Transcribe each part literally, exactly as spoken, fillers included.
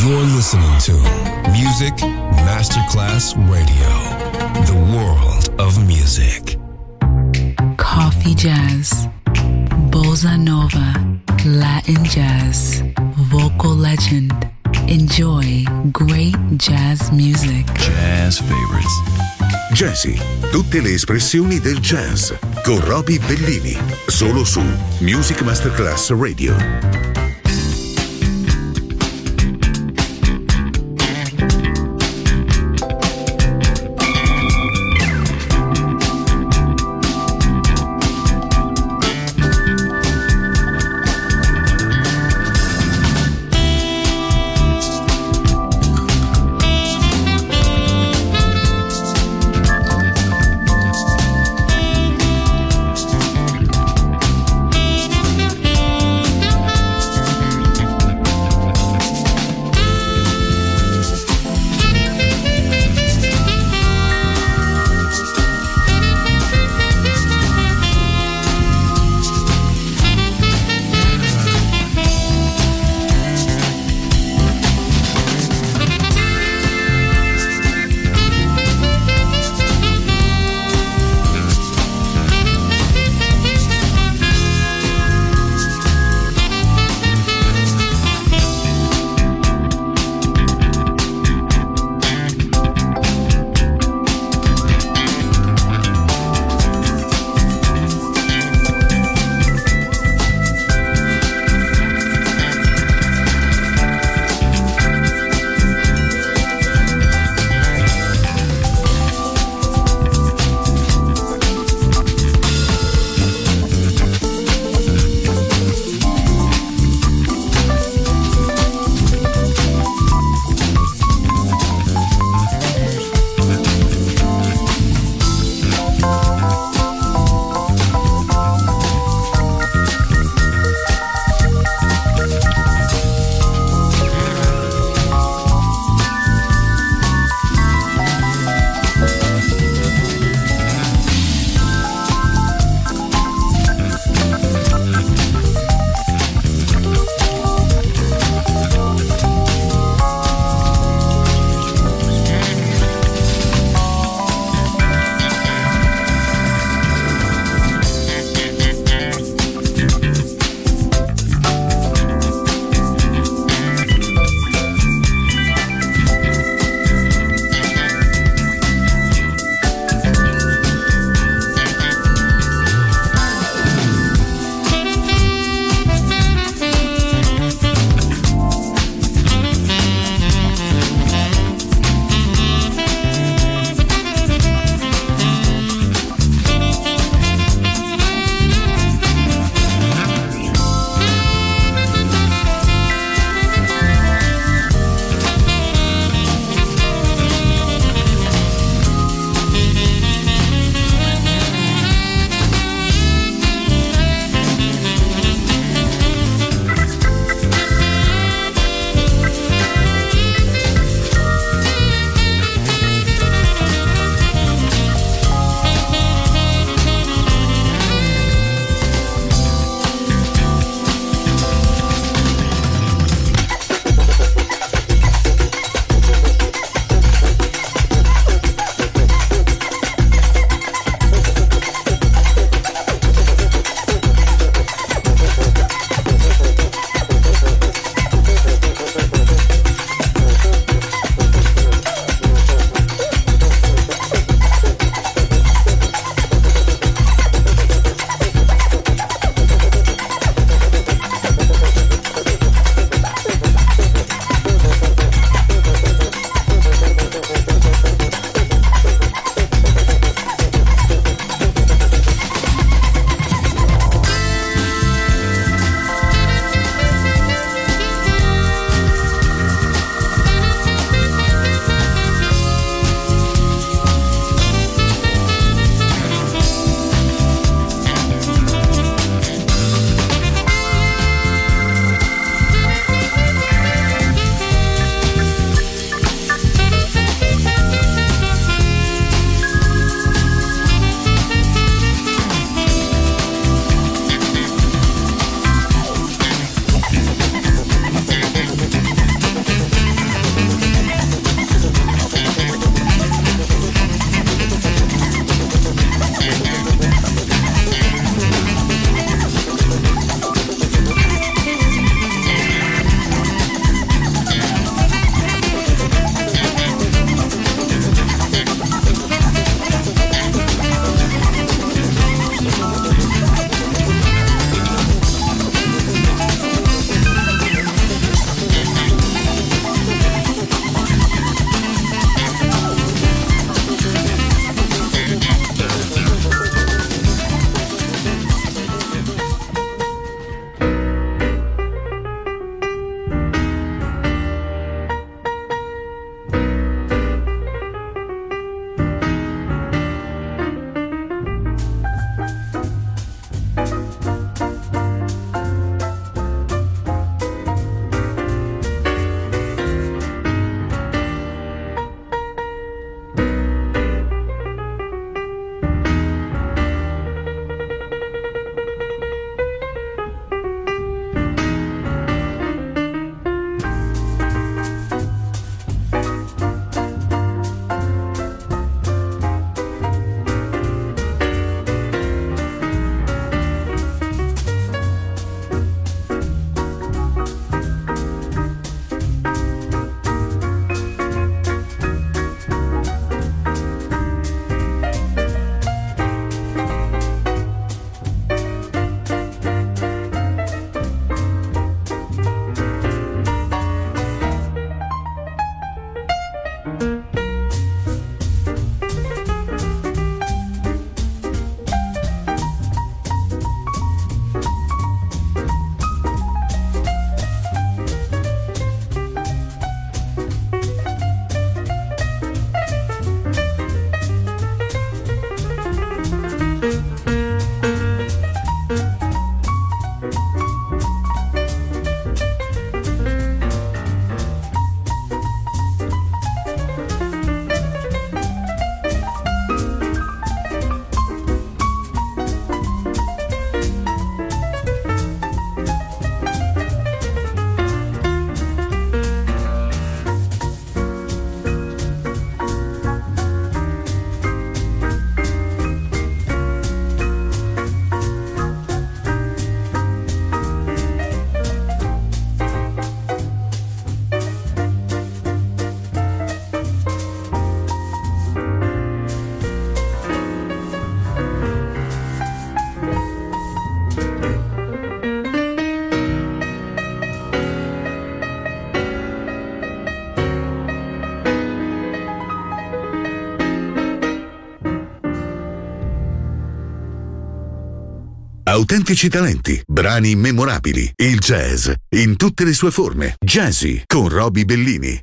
You're listening to Music Masterclass Radio, the world of music. Coffee jazz, bossa nova, Latin jazz, vocal legend. Enjoy great jazz music. Jazz favorites. Jazzy, tutte le espressioni del jazz con Roby Bellini, solo su Music Masterclass Radio. autentici talenti, brani memorabili, il jazz in tutte le sue forme. Jazzy con Roby Bellini.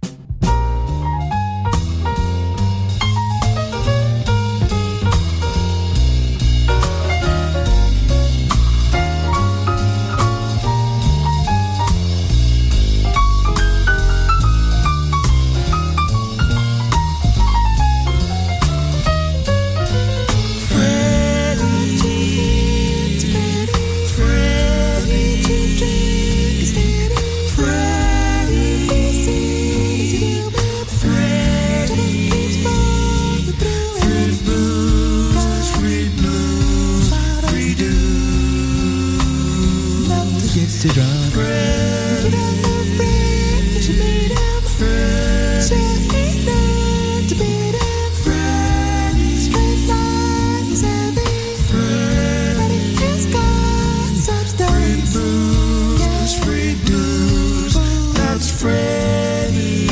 To drum. Fred, Fred, she made him. Fred, she ain't there to beat him. Fred, straight line is heavy. Fred, Freddy has got substance. Free blues, free blues, that's Freddy.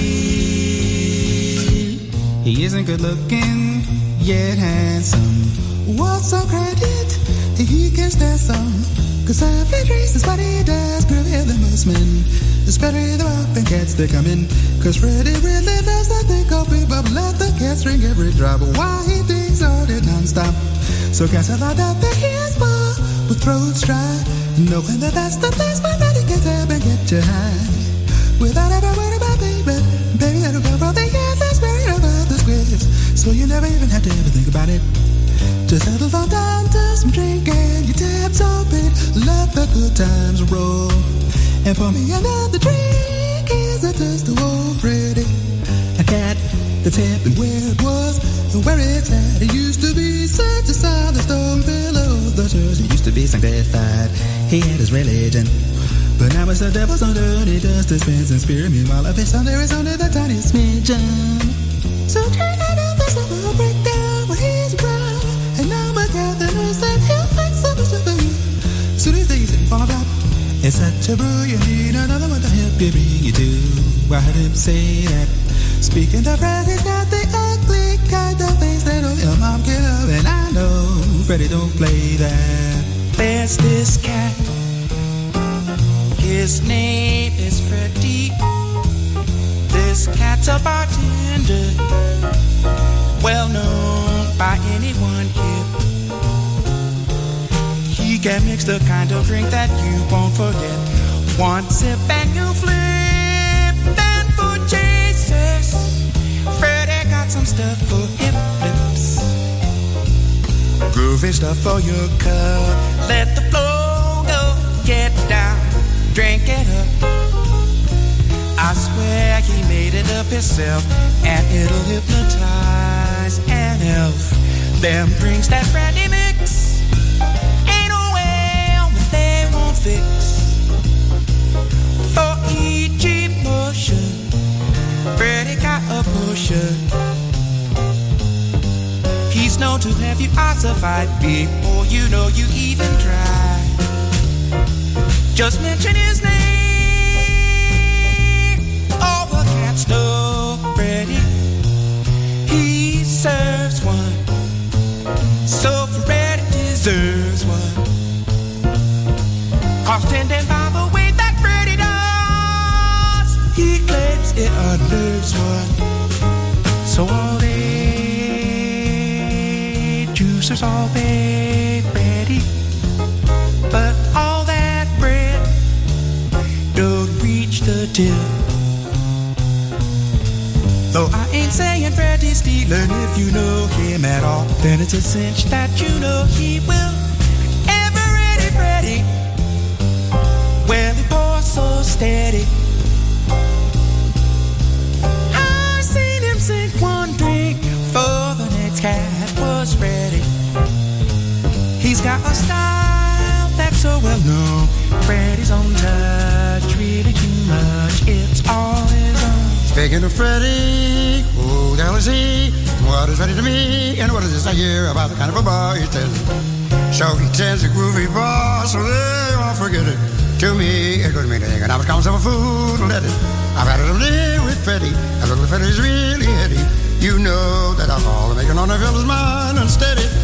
He isn't good looking, yet handsome. What's some credit? He can stand some. Cause every trace is what he does, prevail the most men. It's better the up and cats they come in. Cause Freddy really loves that thing called people. Let the cats drink every drop while he thinks all it non-stop. So cats are locked up in his bar with throats dry, knowing that that's the place where Freddy gets up and get you high. Without ever worry about baby, baby that'll go from the years that's worried about the squares. So you never even have to ever think about it. Just settle fall down to some drink and your tabs open. Let the good times roll. And pour me another drink. Is a toast to old Freddy. A cat that's hip and where it was and where it's at. It used to be such a solid stone pillow. The church it used to be sanctified. He had his religion. But now it's the devil's on dirty dust dispense and spirit. Meanwhile, if it's under, it's under the tiniest smidgen. So turn it up, this little breakdown when he's around. And now my Catherine said he'll make so much of you. Soon as these things fall apart, it's such a brew, you need another one to help you bring you to. I heard him say that. Speaking of Fred, he's got the ugly kind of face that only a mom can love. And I know Freddy don't play that. There's this cat, his name is Freddy. This cat's a bartender, well known by anyone here. He can mix the kind of drink that you won't forget. One sip and you flip, and for Jesus, Freddy got some stuff for hip lips. Groovy stuff for your cup. Let the flow go, get down, drink it up. I swear he made it up himself, and it'll hypnotize an elf. Them drinks that Freddy mix ain't no way that they won't fix. For each emotion, Freddy got a potion. He's known to have you ossified before you know you even try. Just mention his name. No, Freddy, he serves one. So Freddy deserves one. Cause tending by the way that Freddy does, he claims it unnerves one. So all they juicers, all they Freddy, but all that bread don't reach the till. Though I ain't saying Freddy's stealing, if you know him at all, then it's a cinch that you know he will. Ever ready, Freddy? Well, he pours so steady. I seen him sink one drink before the next cat was ready. He's got a style that's so well known. Freddy's own touch, really too much. It's all his own. Speaking of Freddy, who the hell is he? What is Freddy to me? And what is this I hear about the kind of a boy he tends? So he tends a groovy boss, so they won't forget it. To me, it couldn't mean anything, and I was calling myself a fool to let it. I've had it a live with Freddy, and little Freddy's really heady. You know that alcohol will make an honor fill his mind unsteady. It's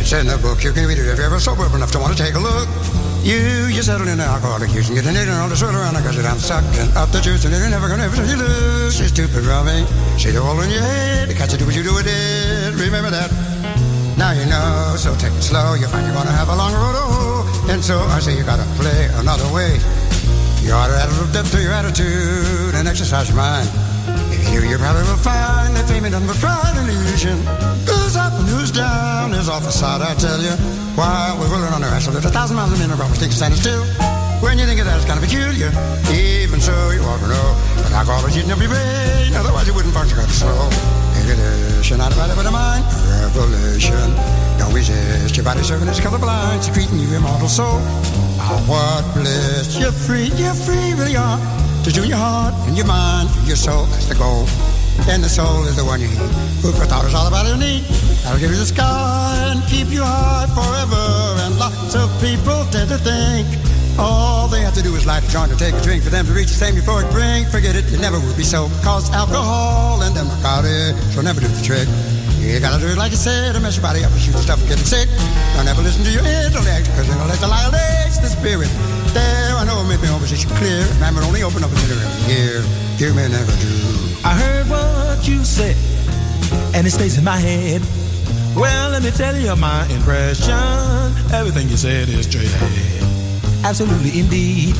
It's in the book, you can read it if you're ever sober enough to want to take a look. You, you settle in the alcoholic use and get an idiot on the swirl around because you're down sucking up the juice and you're never gonna ever see you lose. She's stupid, Robbie. See the hole in your head. You catch it, do what you do with it. Remember that. Now you know, so take it slow. You find you're gonna have a long road to hoe. And so I say you gotta play another way. You ought to add a little depth to your attitude and exercise your mind. If you do, you probably will find that fame ain't nothing but pride and illusion. Who's up and who's down is off the side, I tell you. While we're rolling on our ass, there's a thousand miles a minute, but we think standing still. When you think of that, it's kind of peculiar. Even so, you ought to know. But alcohol is eating up your brain, otherwise you wouldn't function quite slow. Inhibition, not about it, but a mind. Revelation. Don't resist. Your body serving as colorblind, secreting your immortal soul. Oh, what bliss. You're free, you're free, really are. To do your heart and your mind, your soul, that's the goal. And the soul is the one you need. Food for thought is all about your need. That'll give you the sky and keep you high forever. And lots of people tend to think all they have to do is light a joint or take a drink for them to reach the same euphoric brink. Forget it, it never will be so. Cause alcohol and them narcotics will never do the trick. You gotta do it like you said, to mess your body up and shoot the stuff and get sick. Don't ever listen to your intellect, cause they're gonna let the lie lace the spirit. There, I know it made me opposition clear. Remember, only open up a little every year. You may never do. I heard what you said, and it stays in my head. Well, let me tell you my impression. Everything you said is straight ahead. Absolutely, indeed.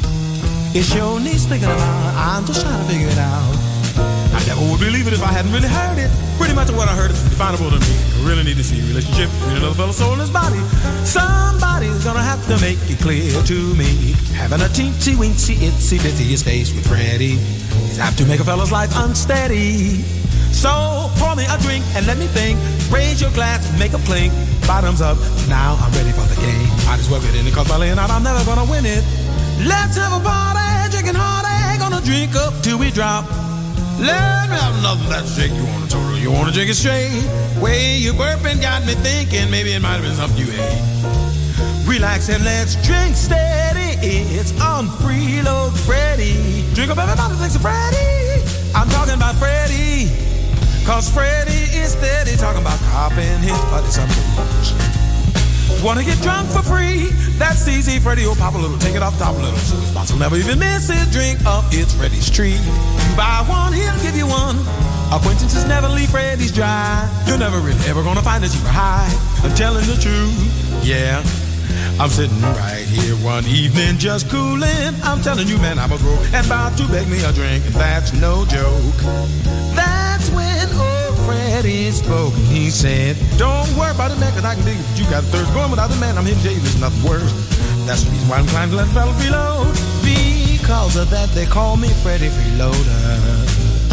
It sure needs thinking about. I'm just trying to figure it out. I never would believe it if I hadn't really heard it. Pretty much what I heard is definable to me. I really need to see a relationship between another fellow's soul and his body. Somebody's gonna have to make it clear to me. Having a teensy weensy itsy bitsy space with Freddie is apt to make a fellow's life unsteady. So pour me a drink and let me think. Raise your glass and make a clink. Bottoms up, now I'm ready for the game. Might as well get in it, cause by laying out I'm never gonna win it. Let's have a party, drinking hard, gonna drink up till we drop. Let me have another that shake. You wanna total, you wanna drink it straight. Way you burping got me thinking maybe it might have been something you ate. Relax and let's drink steady. It's on Freeload Freddy. Drink up everybody thinks of Freddy. I'm talking about Freddy. Cause Freddy is steady talking about copping his buddy some booze. Wanna get drunk for free? That's easy. Freddy will pop a little, take it off top a little. So his boss will never even miss his drink up. It's Freddy's treat. You buy one, he'll give you one. Acquaintances never leave Freddy's dry. You're never really ever gonna find that you were high. I'm telling the truth, yeah. I'm sitting right here one evening just cooling. I'm telling you, man, I'm a broke and about to beg me a drink, and that's no joke. That's when old Freddy spoke and he said, don't worry about it, man, cause I can dig it. You got a thirst going without the man, I'm here to tell you there's nothing worse. That's the reason why I'm inclined to let the fellow reload. Because of that, they call me Freddy Freeloader.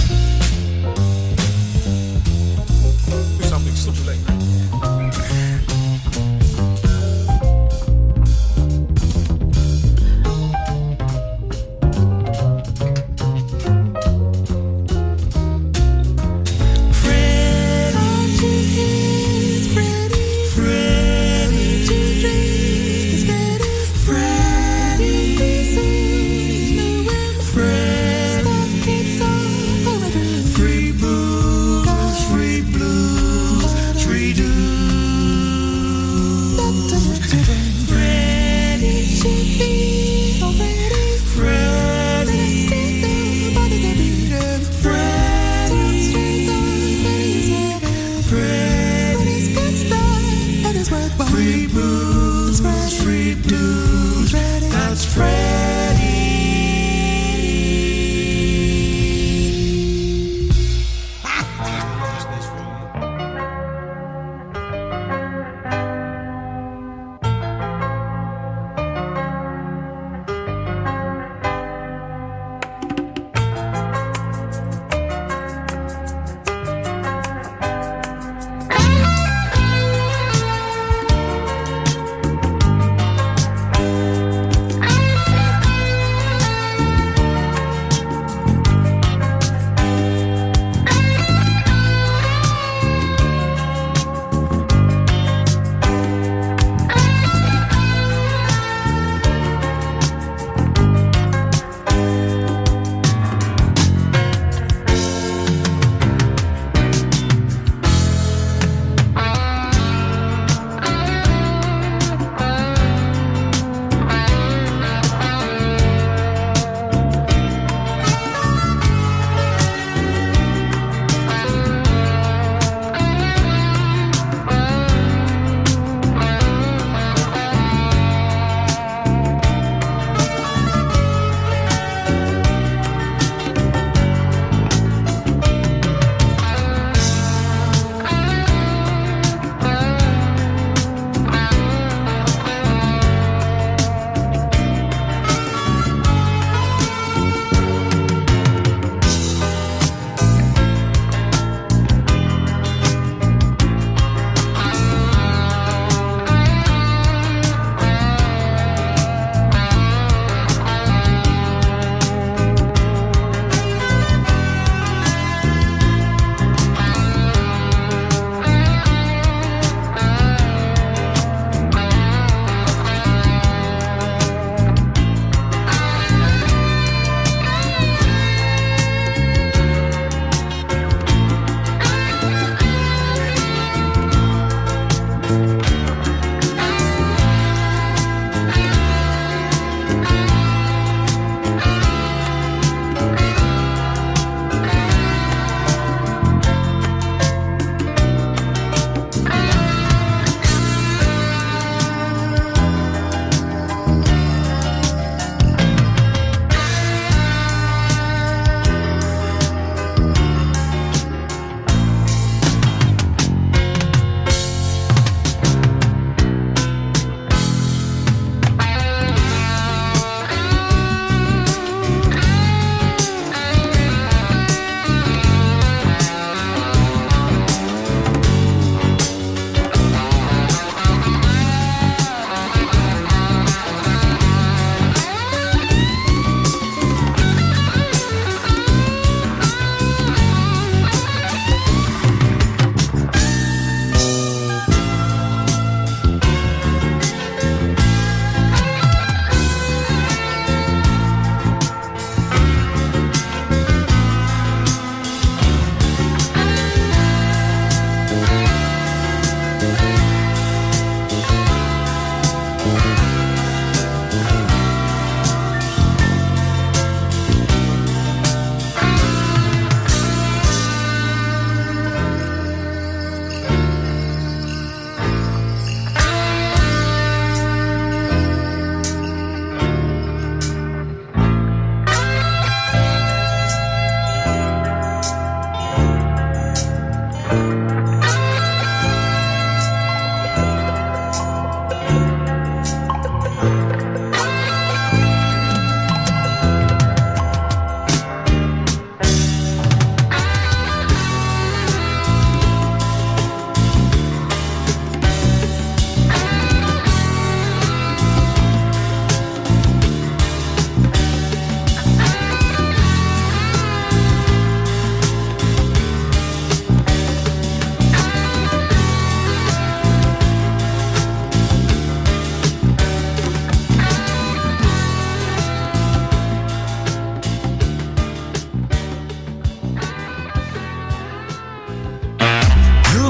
Something super late. Free booze, free blues, free dudes.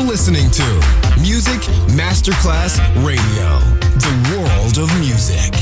listening to Music Masterclass Radio, the world of music.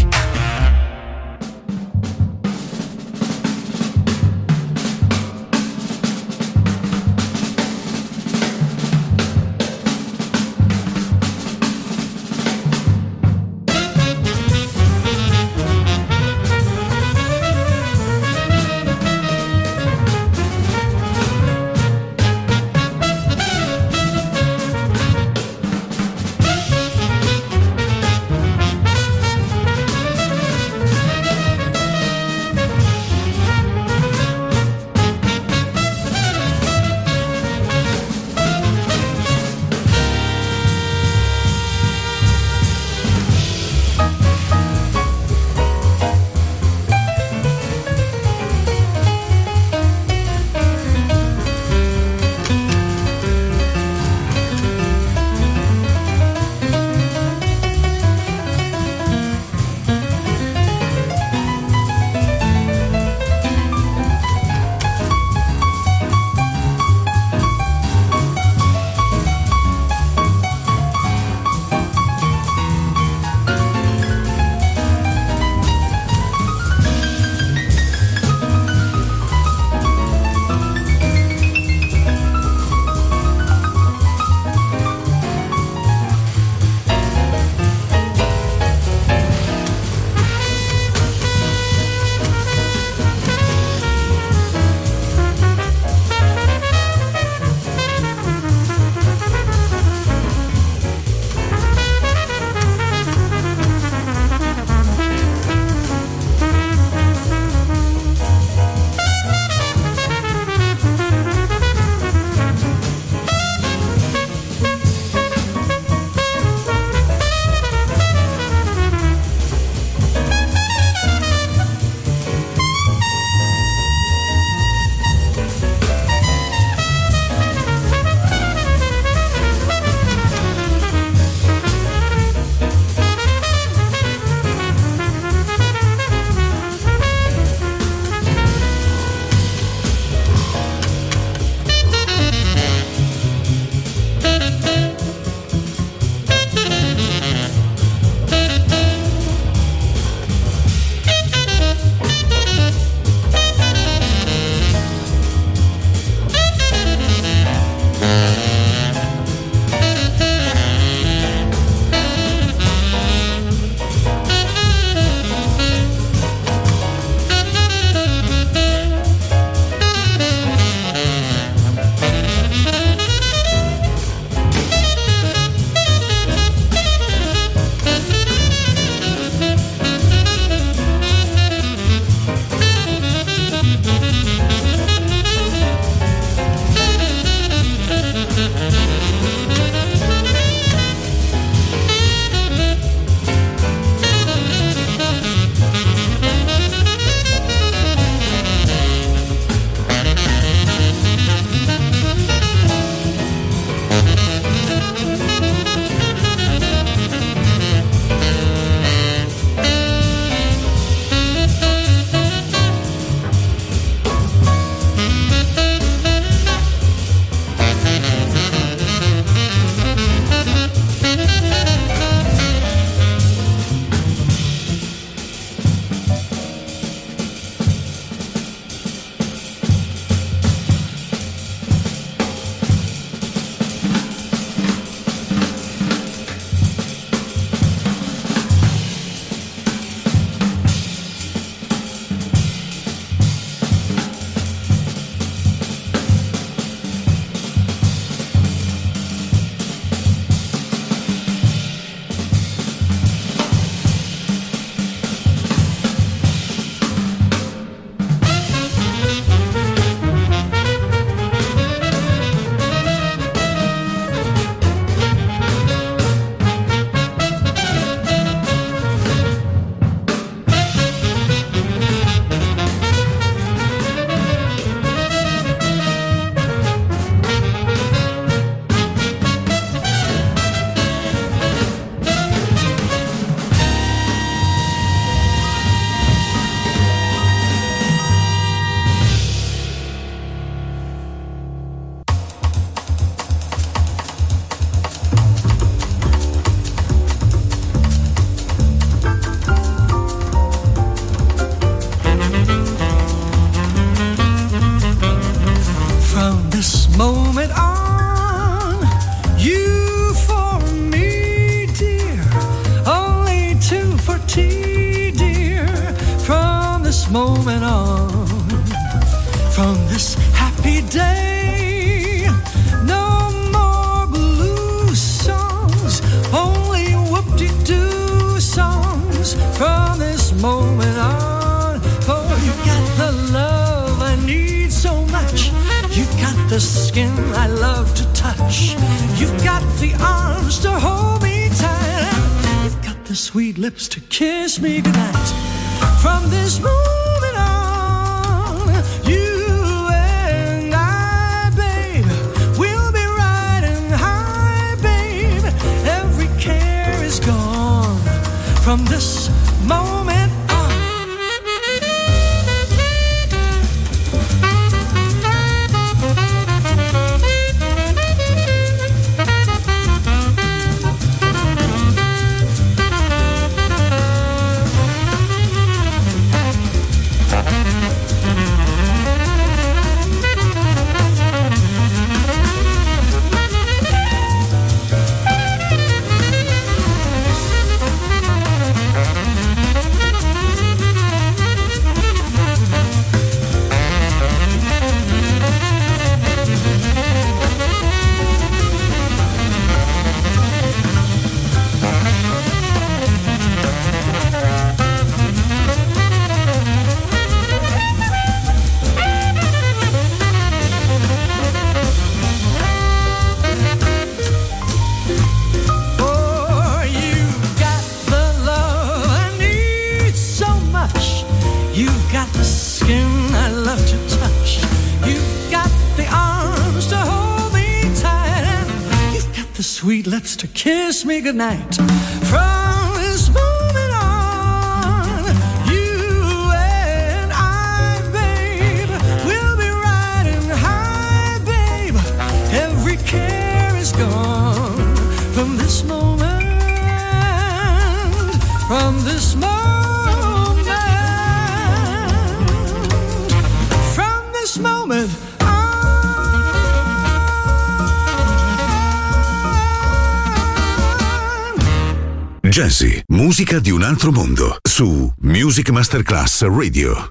moment on, you for me, dear, only two for tea, dear, from this moment on, from this happy day, no more blue songs, only whoop-de-doo songs, from this moment on, for you got the love I need so much. You've got the skin I love to touch. You've got the arms to hold me tight. You've got the sweet lips to kiss me goodnight. From this moment on, you and I, babe, we'll be riding high, babe. Every care is gone from this moment on. Sweet lips to kiss me goodnight. From this moment on, you and I, babe, we'll be riding high, babe. Every care is gone from this moment, from this moment, from this moment. Jazzy, musica di un altro mondo, su Music Masterclass Radio.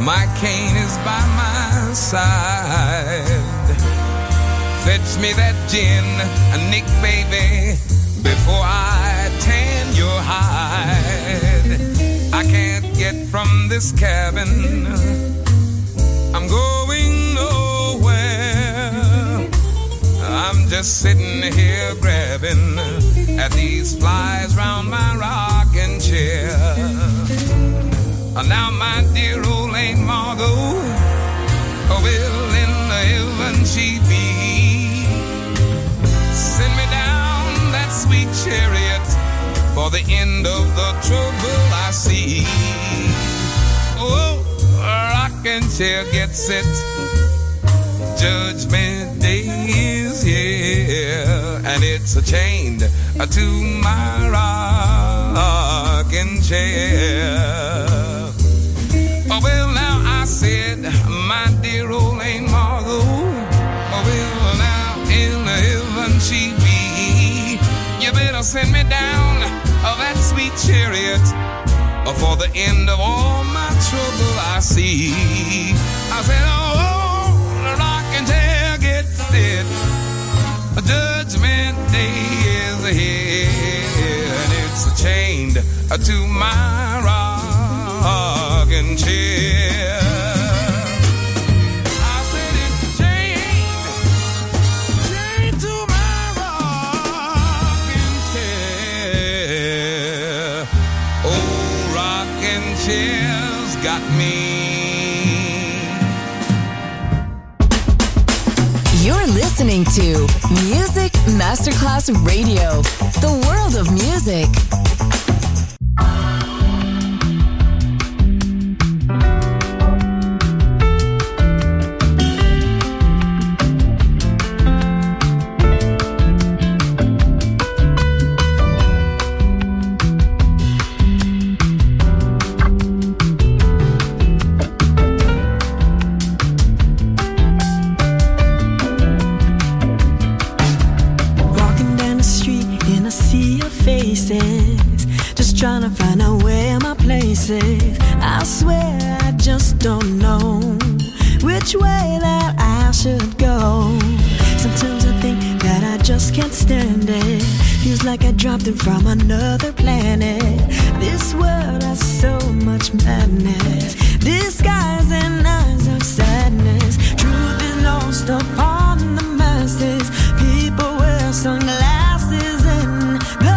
my cane is by my side. Fetch me that gin, Nick, baby, before I tan your hide. I can't get from this cabin, I'm going nowhere. I'm just sitting here grabbing at these flies round my rocking chair. Now my dear old Aunt Margot, will in heaven she be. Send me down that sweet chariot for the end of the trouble I see. Oh, rocking chair gets it, Judgment Day is here, and it's chained to my rocking chair. Oh, well, now I said, my dear old Aunt Margot, oh, well, now in heaven she be. You better send me down oh, that sweet chariot oh, for the end of all my trouble I see. I said, oh, the rocking chair gets it. Judgment Day is here, and it's chained to my rocking chair. I said it's chained, chained to my rocking chair. Oh, rocking chair's got me. You're listening to Music Masterclass Radio, the world of music. Just trying to find out where my place is. I swear I just don't know which way that I should go. Sometimes I think that I just can't stand it. Feels like I dropped in from another planet. This world has so much madness, disguising eyes of sadness. Truth is lost upon the masses. People wear sunglasses in the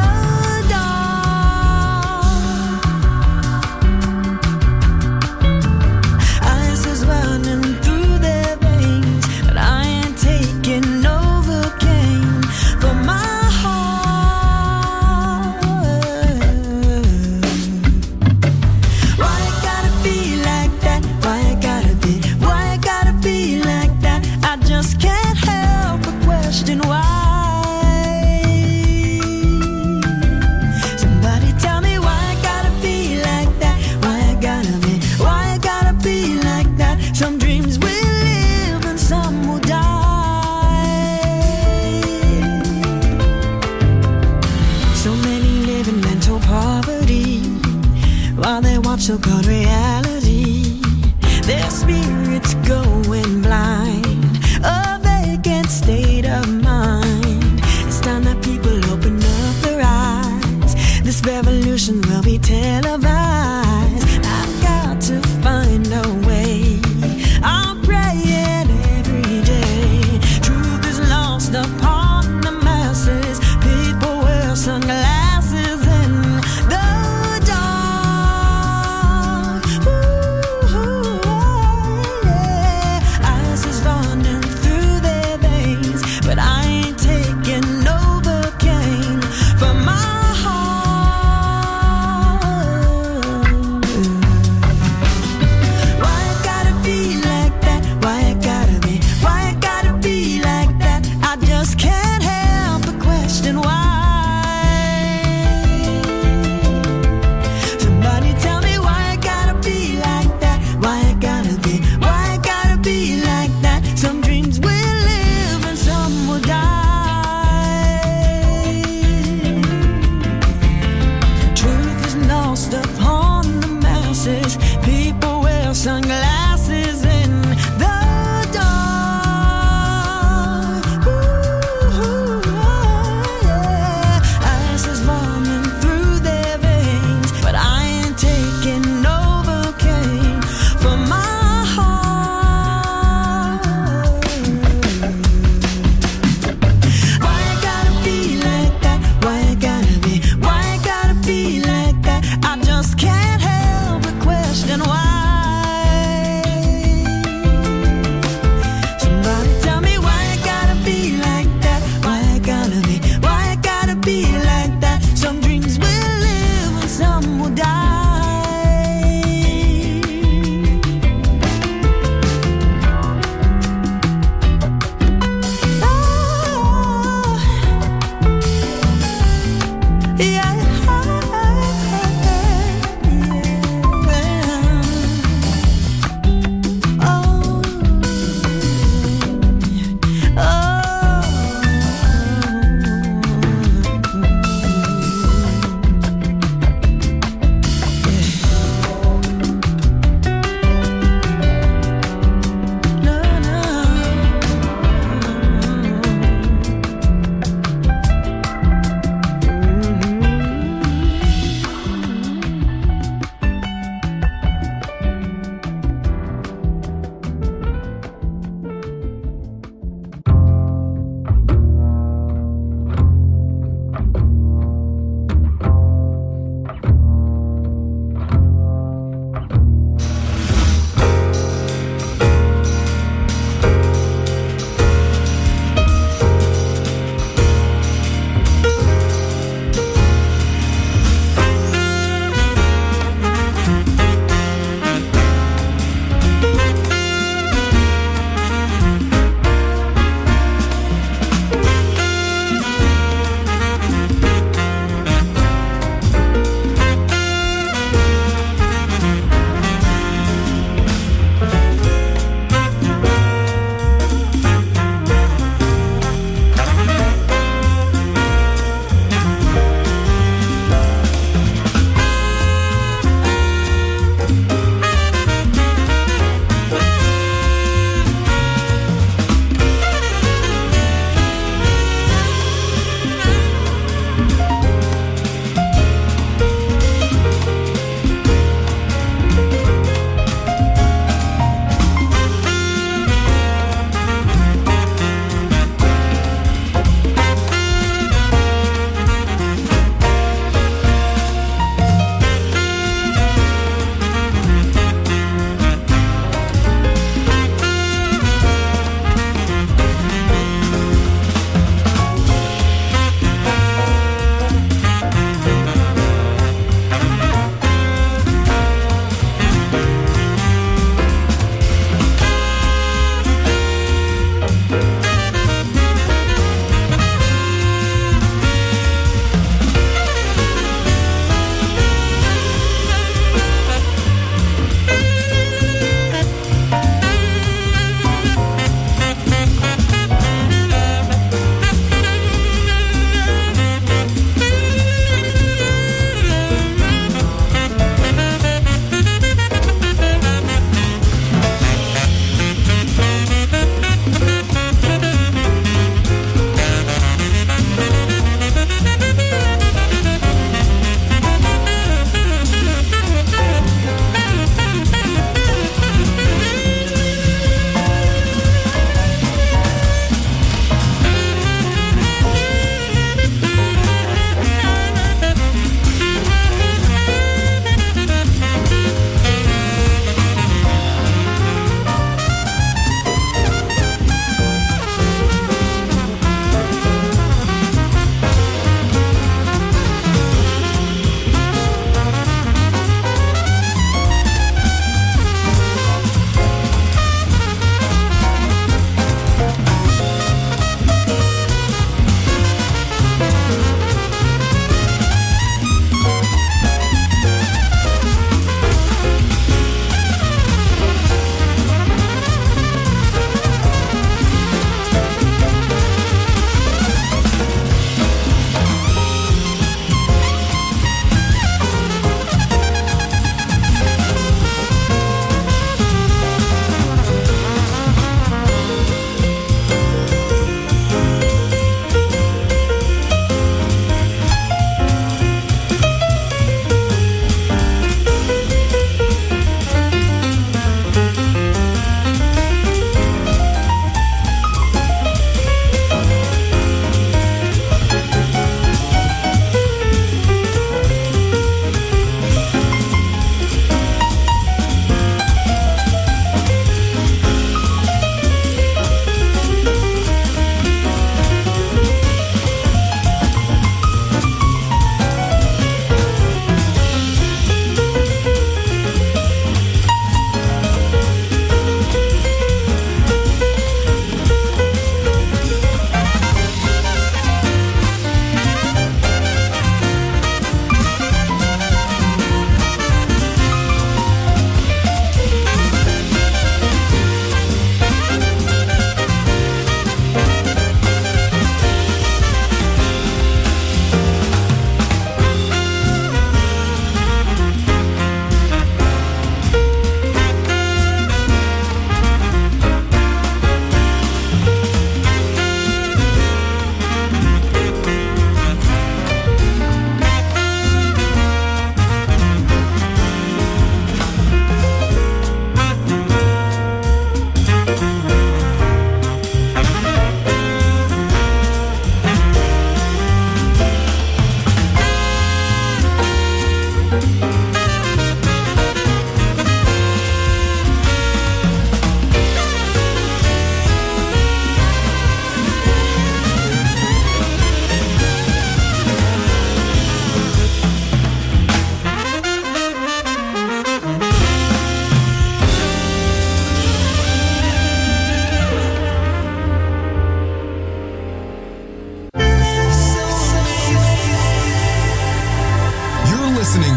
so-called reality. Their spirits going blind, a vacant state of mind. It's time that people open up their eyes. This revolution will be televised. I've got to find a way. I'm praying every day. Truth is lost upon the masses. People wear sunglasses in the dark.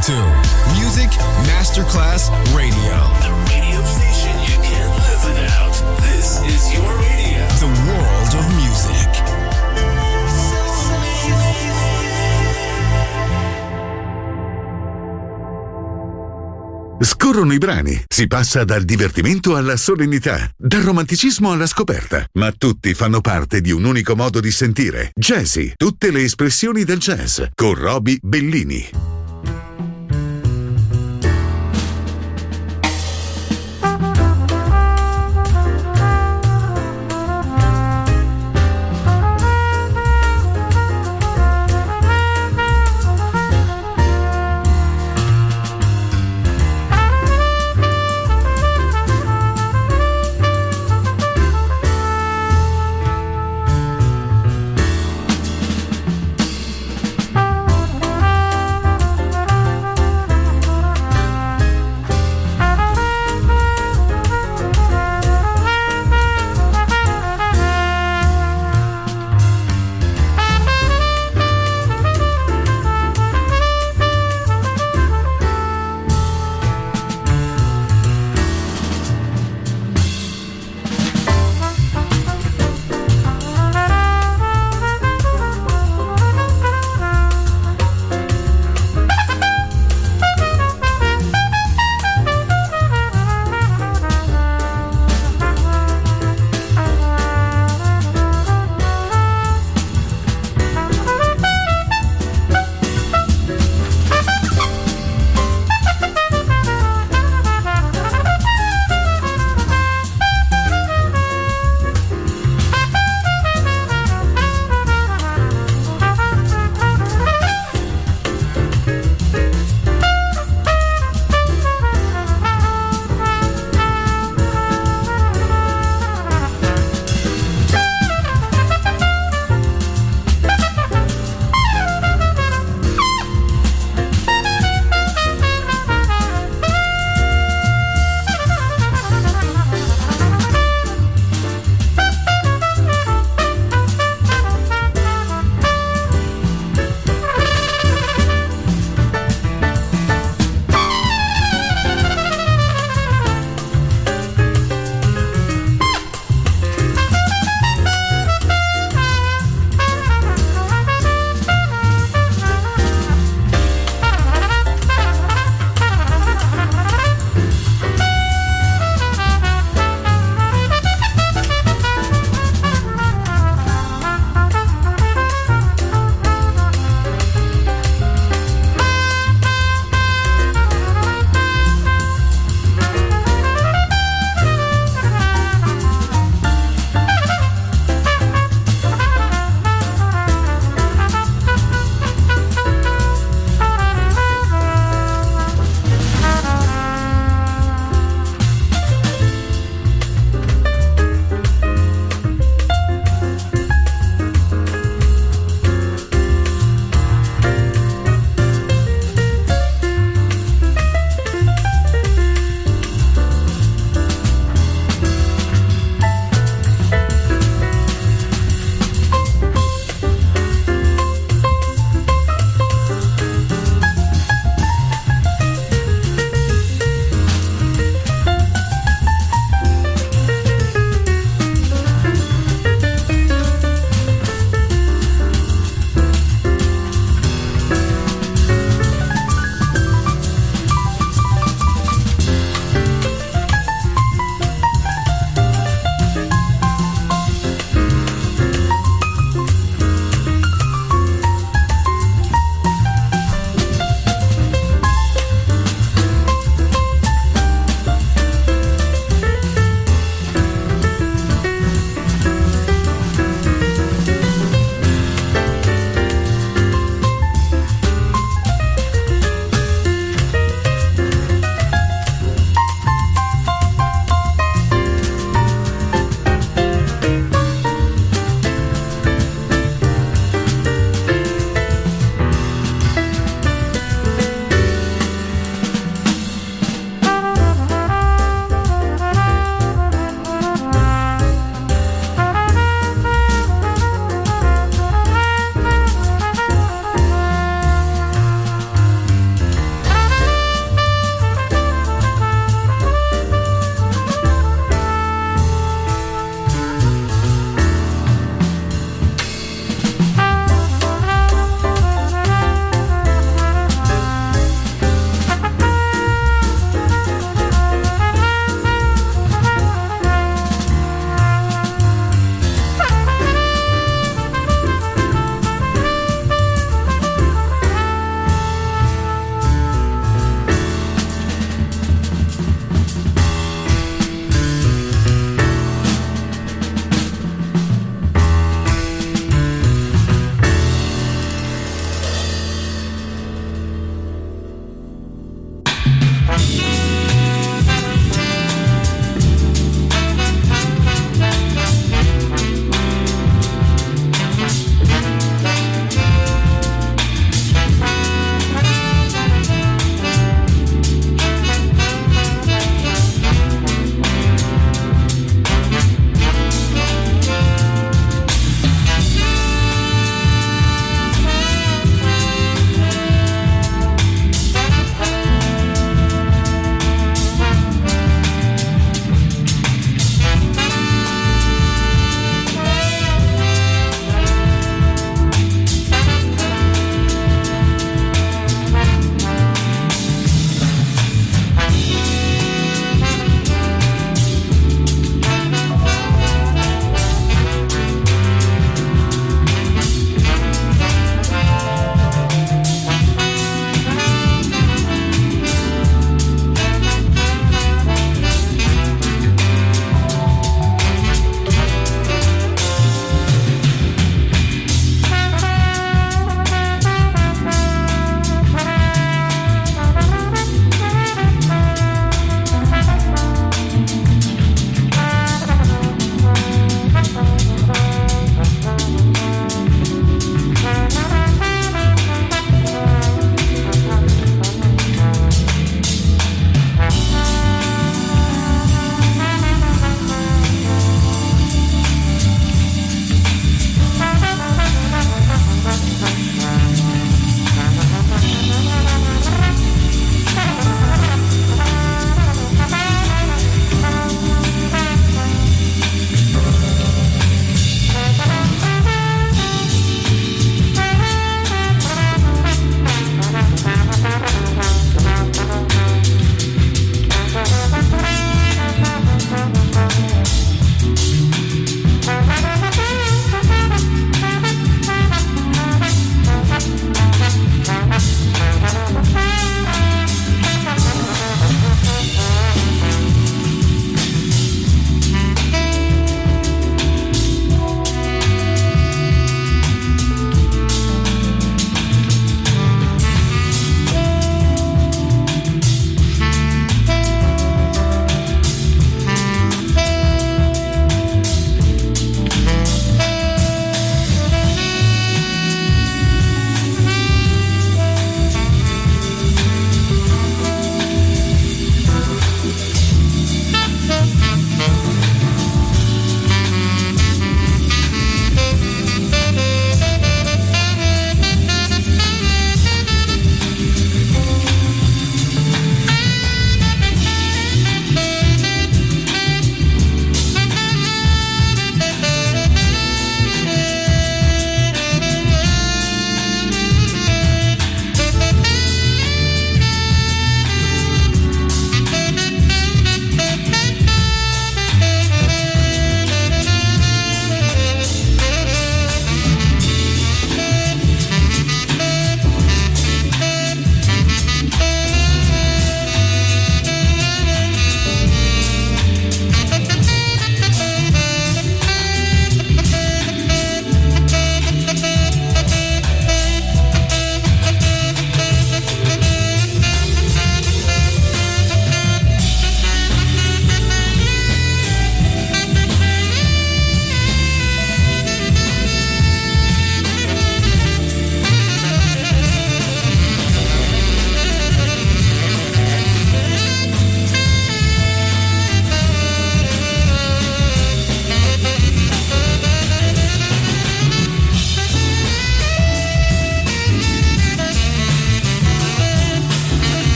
to Music Masterclass Radio. The radio station you can't live without. This is your radio. The world of music. Scorrono i brani, si passa dal divertimento alla solennità, dal romanticismo alla scoperta, ma tutti fanno parte di un unico modo di sentire. Jazzy, tutte le espressioni del jazz, con Roby Bellini.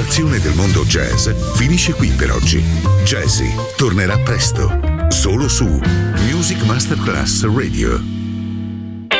esplorazione del mondo jazz finisce qui per oggi. Jazzy tornerà presto, solo su Music Masterclass Radio.